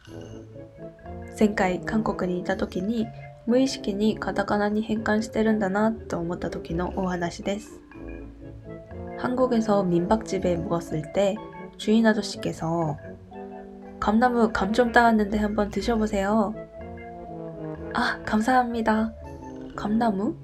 前回韓国にいた時に無意識にカタカナに変換してるんだなと思った時のお話です。한국에서 민박집에 묵었을 때 주인 아저씨께서 감나무 감 좀 따왔는데 한번 드셔보세요. 아, 감사합니다. 감나무?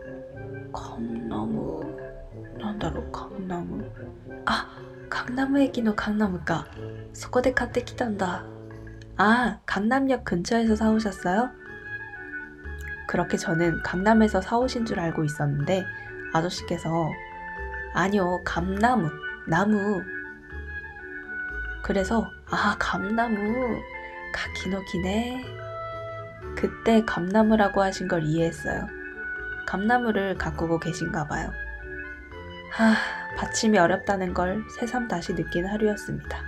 감나무... なんだろう、감나무. 아, 강나무駅の 강나무가. そこで買ってきたんだ. 아, 강남역 근처에서 사오셨어요? 그렇게 저는 강남에서 사오신 줄 알고 있었는데 아저씨께서 아니요, 감나무, 나무. 그래서 아, 감나무, 가키노키네. 그때 감나무라고 하신 걸 이해했어요. 감나무를 가꾸고 계신가 봐요. 받침이 어렵다는 걸 새삼 다시 느낀 하루였습니다.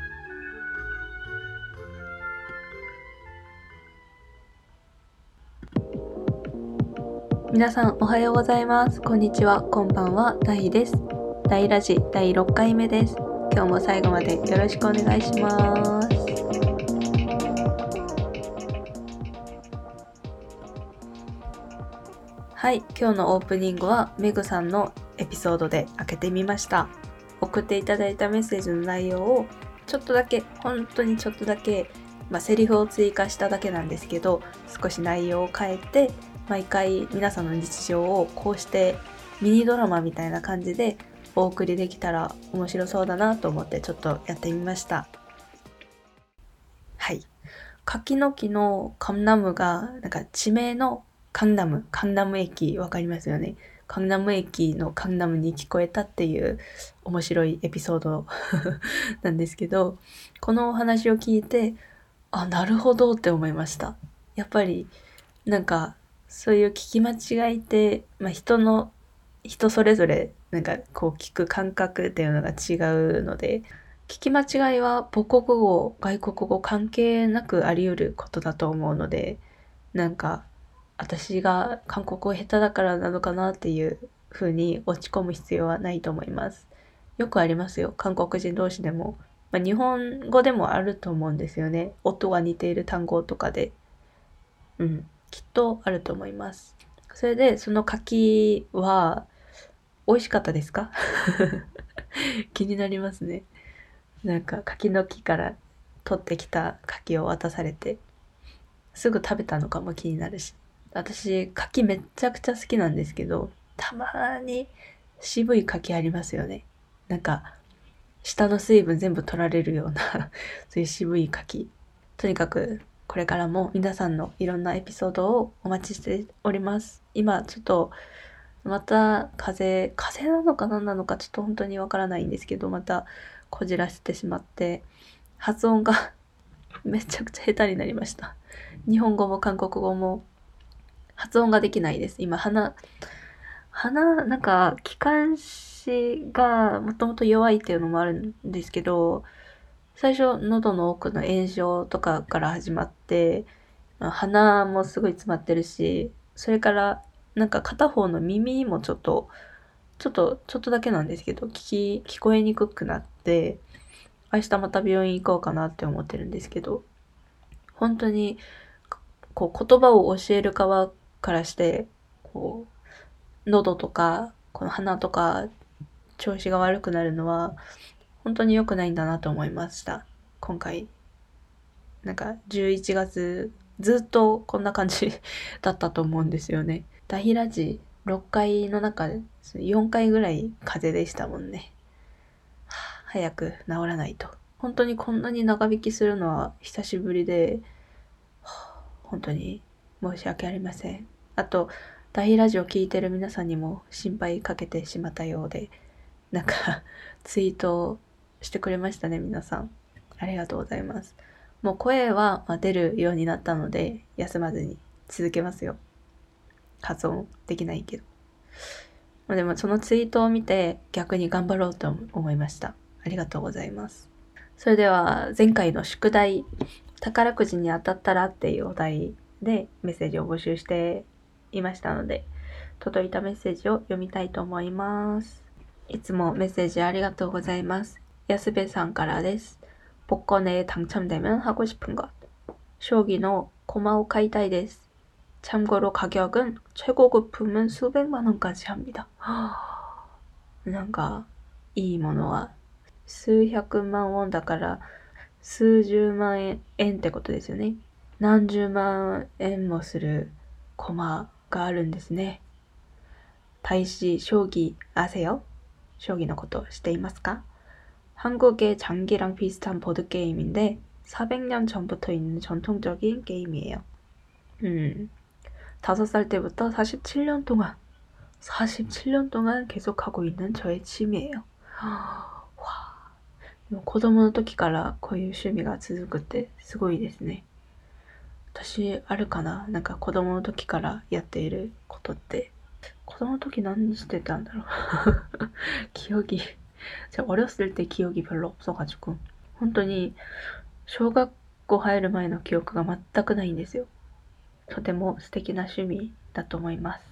皆さんおはようございます。こんにちは、こんばんは、ダイです。ダイラジ第6回目です。今日も最後までよろしくお願いします。はい、今日のオープニングはメグさんのエピソードで開けてみました。送っていただいたメッセージの内容をちょっとだけ、本当にちょっとだけ、セリフを追加しただけなんですけど、少し内容を変えて毎回皆さんの日常をこうしてミニドラマみたいな感じでお送りできたら面白そうだなと思ってちょっとやってみました。はい。柿の木のカンナムがなんか地名のカンナム駅わかりますよね。カンナム駅のカンナムに聞こえたっていう面白いエピソードなんですけど、このお話を聞いて、あ、なるほどって思いました。やっぱりなんかそういう聞き間違いって、人それぞれなんかこう聞く感覚っていうのが違うので、聞き間違いは母国語、外国語関係なくあり得ることだと思うので、なんか私が韓国語下手だからなのかなっていう風に落ち込む必要はないと思います。よくありますよ、韓国人同士でも。日本語でもあると思うんですよね。音が似ている単語とかで。きっとあると思います。それで、その柿は美味しかったですか？気になりますね。なんか柿の木から取ってきた柿を渡されて、すぐ食べたのかも気になるし。私、柿めっちゃくちゃ好きなんですけど、たまに渋い柿ありますよね。なんか、下の水分全部取られるようなそういう渋い柿。とにかく、これからも皆さんのいろんなエピソードをお待ちしております。今、ちょっと、また風なのか何なのかちょっと本当にわからないんですけど、またこじらせてしまって、発音がめちゃくちゃ下手になりました。日本語も韓国語も発音ができないです。今、なんか、気管支がもともと弱いっていうのもあるんですけど、最初、喉の奥の炎症とかから始まって、鼻もすごい詰まってるし、それから、なんか片方の耳もちょっとだけなんですけど、聞こえにくくなって、明日また病院行こうかなって思ってるんですけど、本当に、こう言葉を教える側からして、こう、喉とか、この鼻とか、調子が悪くなるのは、本当に良くないんだなと思いました。今回、なんか11月、ずっとこんな感じだったと思うんですよね。ダヒラジ6回の中で4回ぐらい風邪でしたもんね。早く治らないと。本当にこんなに長引きするのは久しぶりで、本当に申し訳ありません。あと、ダヒラジオ聞いてる皆さんにも心配かけてしまったようで、なんかツイートしてくれましたね、皆さん。ありがとうございます。もう声は出るようになったので、休まずに続けますよ。発音できないけど。でもそのツイートを見て逆に頑張ろうと思いました。ありがとうございます。それでは前回の宿題、宝くじに当たったらっていうお題でメッセージを募集していましたので、届いたメッセージを読みたいと思います。いつもメッセージありがとうございます。やすべさんからです。복권에 당첨되면 하고 싶은 것. 将棋の駒を買いたいです。참고로 가격은 최고급품은 수백만 원까지 합니다. なんかいいものは数百万ウォンだから数十万円ってことですよね。何十万円もする駒があるんですね。大使将棋아세요?将棋のこと知っていますか? 한국의 장기랑 비슷한 보드게임인데 400년 전부터 있는 전통적인 게임이에요. 5살 때부터 47년 동안 계속하고 있는 저의 취미예요. 子供の時からこういう趣味が続くってすごいですね。私あるかな、なんか子供の時からやっていることって。子供の時何してたんだろう기억이 제가 어렸을 때 기억이 별로 없어가지고本当に小学校入る前の記憶が全くないんですよ。とても素敵な趣味だと思います。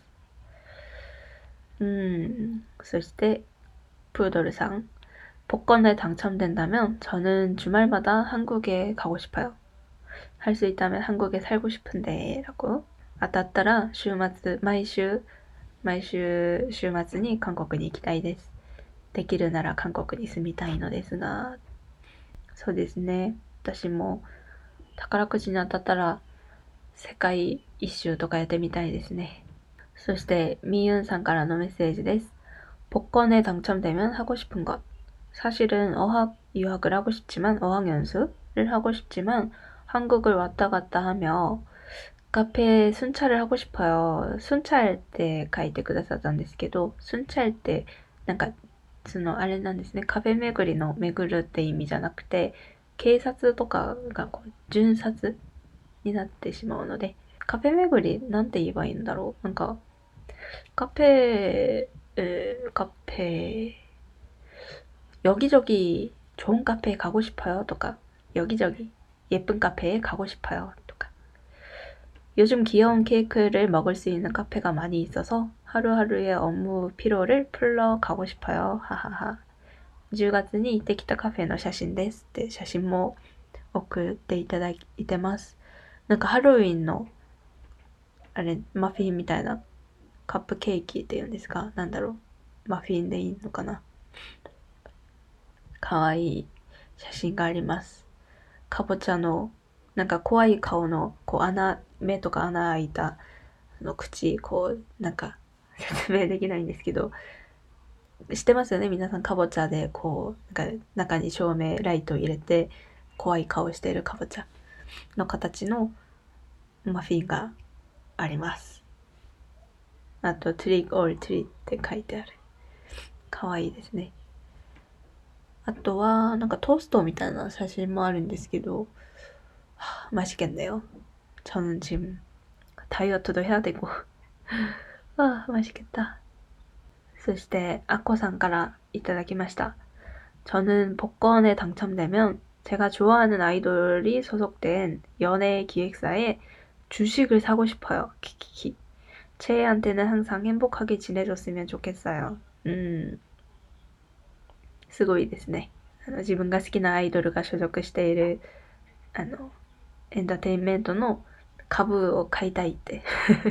そして푸들상 복권에 당첨된다면 저는 주말마다 한국에 가고 싶어요. 할 수 있다면 한국에 살고 싶은데 라고. 当たったら週末毎週週末に韓国に行きたいです。できるなら韓国に住みたいのですが。そうですね。私も宝くじに当たったら世界一周とかやってみたいですね。そして미윤さんからのメッセージです。복권에 당첨되면 하고 싶은 것. 사실은 어학 유학을 하고 싶지만 어학 연수를 하고 싶지만 한국을 왔다 갔다 하며 카페 순찰을 하고 싶어요. 순찰 때書いてくださったんですけど、순찰 때なんかそのあれなんですね。カフェ巡りの巡るって意味じゃなくて、警察とかがこう巡察になってしまうので、カフェ巡りなんて言えばいいんだろう。なんか카페 여기저기 좋은 카페에 가고 싶어요. とか 여기저기 예쁜 카페에 가고 싶어요. とか 요즘 귀여운 케이크를 먹을 수 있는 카페가 많이 있어서 하루하루의 업무 피로를 풀러 가고 싶어요. 하하하. 10月に行ってきたカフェの写真ですって写真も送っていただいてます。なんかハロウィンのあれマフィンみたいなカップケーキって言うんですか、なんだろう、マフィンでいいのかな。かわいい写真があります。かぼちゃのなんか怖い顔のこう目とか穴開いた口、こうなんか説明できないんですけど、知ってますよね皆さん。かぼちゃでこうなんか中に照明ライト入れて怖い顔しているかぼちゃの形のマフィンがあります。あとトリックオールトリーって書いてある。かわいいですね。あとはなんかトーストみたいな写真もあるんですけど、맛있겠네요. 저는 지금 다이어트도 해야 되고. 맛있겠다. そしてアッコさんからいただきました。저는 복권에 당첨되면 제가 좋아하는 아이돌이 소속된 연예 기획사에 주식을 사고 싶어요. 키키키. 채혜한테는 항상 행복하게 지내줬으면 좋겠어요. すごいですね。自分が好きなアイドルが所属しているエンターテインメントの株を買いたいって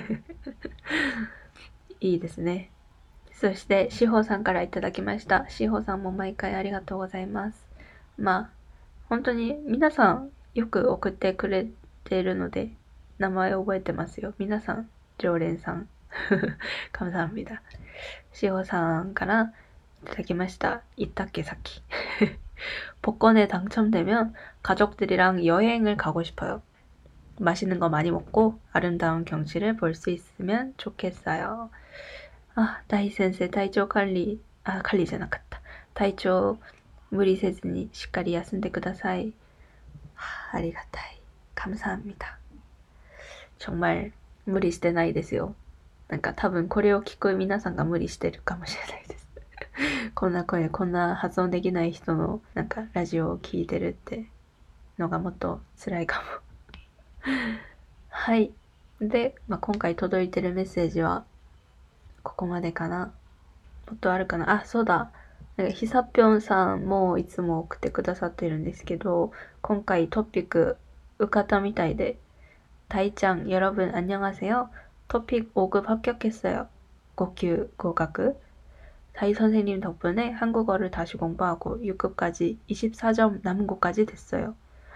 いいですね。そしてしほさんからいただきました。しほさんも毎回ありがとうございます。本当に皆さんよく送ってくれているので名前覚えてますよ。皆さん常連さん감사합니다。しほさんからいただきました。言ったっけさっき복권에 당첨되면 가족들이랑 여행을 가고 싶어요. 맛있는 거 많이 먹고 아름다운 경치를 볼 수 있으면 좋겠어요. 다이先生 体調 관리, 관리じゃなかった. 体調 無理せずにしっかり休んでください. ありがたい. 감사합니다. 정말無理してないですよ。なんか多分これを聞く皆さんが無理してるかもしれないです。こんな声、こんな発音できない人のなんかラジオを聞いてるってのがもっと辛いかも。はい。で、今回届いてるメッセージはここまでかな。もっとあるかな。そうだ。ひさぴょんさんもいつも送ってくださってるんですけど、今回トピック受かったみたいで、다이짱 여러분 안녕하세요. 토픽 5급 합격했어요. 5級 合格. 다이 선생님 덕분에 한국어를 다시 공부하고 6급까지 24점 남은 곳까지 됐어요.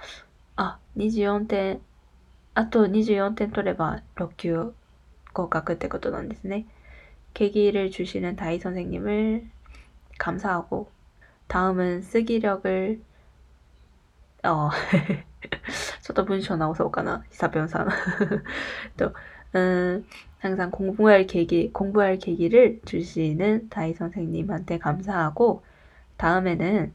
24点、あと24点取れば6級合格ってことなんですね。 계기를 주시는 다이 선생님을 감사하고 다음은 쓰기력을 ちょっと文章直そうかな、久변さん또 항상 공부할 계기를 주시는 다이 선생님한테 감사하고 다음에는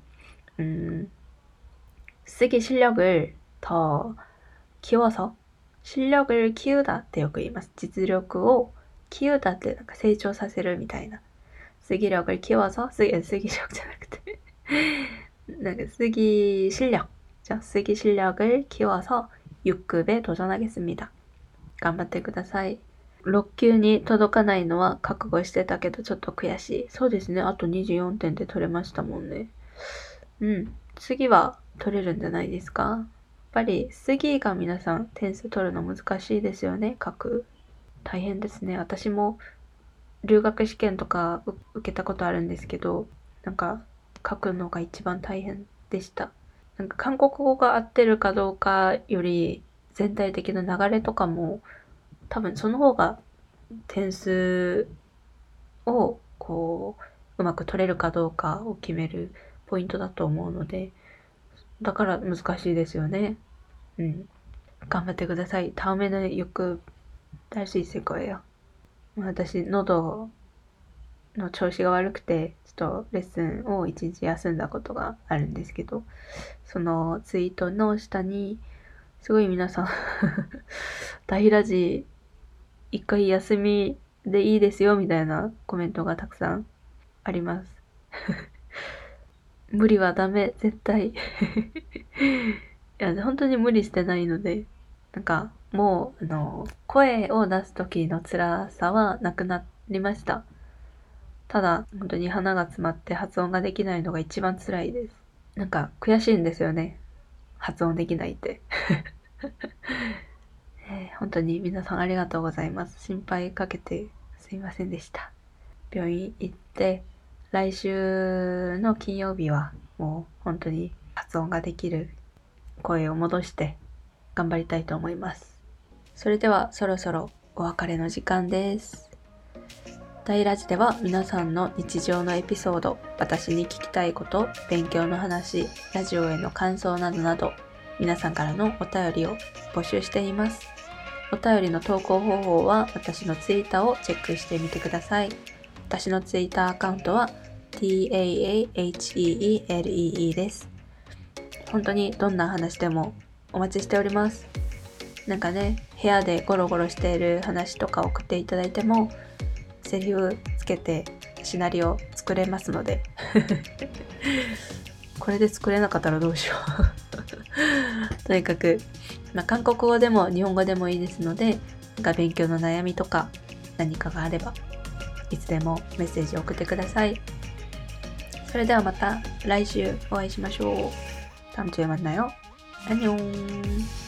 쓰기 실력을 더 키워서 실력을 키우다 ってよく言います。実力を키우다ってなんか成長させるみたいな。쓰기력을 키워서 쓰기력 じゃなくてなんか쓰기 실력을 키워서 6급에 도전하겠습니다. 頑張ってください。6級に届かないのは覚悟してたけどちょっと悔しい。そうですね。あと24点で取れましたもんね。次は取れるんじゃないですか。やっぱり次が皆さん点数取るの難しいですよね。書く。大変ですね。私も留学試験とか受けたことあるんですけど、なんか書くのが一番大変でした。なんか韓国語が合ってるかどうかより全体的な流れとかも多分その方が点数をこううまく取れるかどうかを決めるポイントだと思うので、だから難しいですよね。頑張ってください。다음에는6급 할 수 있을 거예요. 私喉の調子が悪くてちょっとレッスンを1日休んだことがあるんですけど、そのツイートの下にすごい皆さん大ラジ一回休みでいいですよみたいなコメントがたくさんあります無理はダメ、絶対いや本当に無理してないので、なんかもう声を出す時の辛さはなくなりました。ただ本当に鼻が詰まって発音ができないのが一番辛いです。なんか悔しいんですよね、発音できないって本当に皆さんありがとうございます。心配かけてすいませんでした。病院行って来週の金曜日はもう本当に発音ができる声を戻して頑張りたいと思います。それではそろそろお別れの時間です。大ラジでは皆さんの日常のエピソード、私に聞きたいこと、勉強の話、ラジオへの感想などなど皆さんからのお便りを募集しています。お便りの投稿方法は私のツイッターをチェックしてみてください。私のツイッターアカウントは TAAHEELEE です。本当にどんな話でもお待ちしております。なんかね、部屋でゴロゴロしている話とか送っていただいてもセリフつけてシナリオ作れますのでこれで作れなかったらどうしようとにかく、韓国語でも日本語でもいいですので、勉強の悩みとか何かがあればいつでもメッセージを送ってください。それではまた来週お会いしましょう。다음주에만나요。안녕。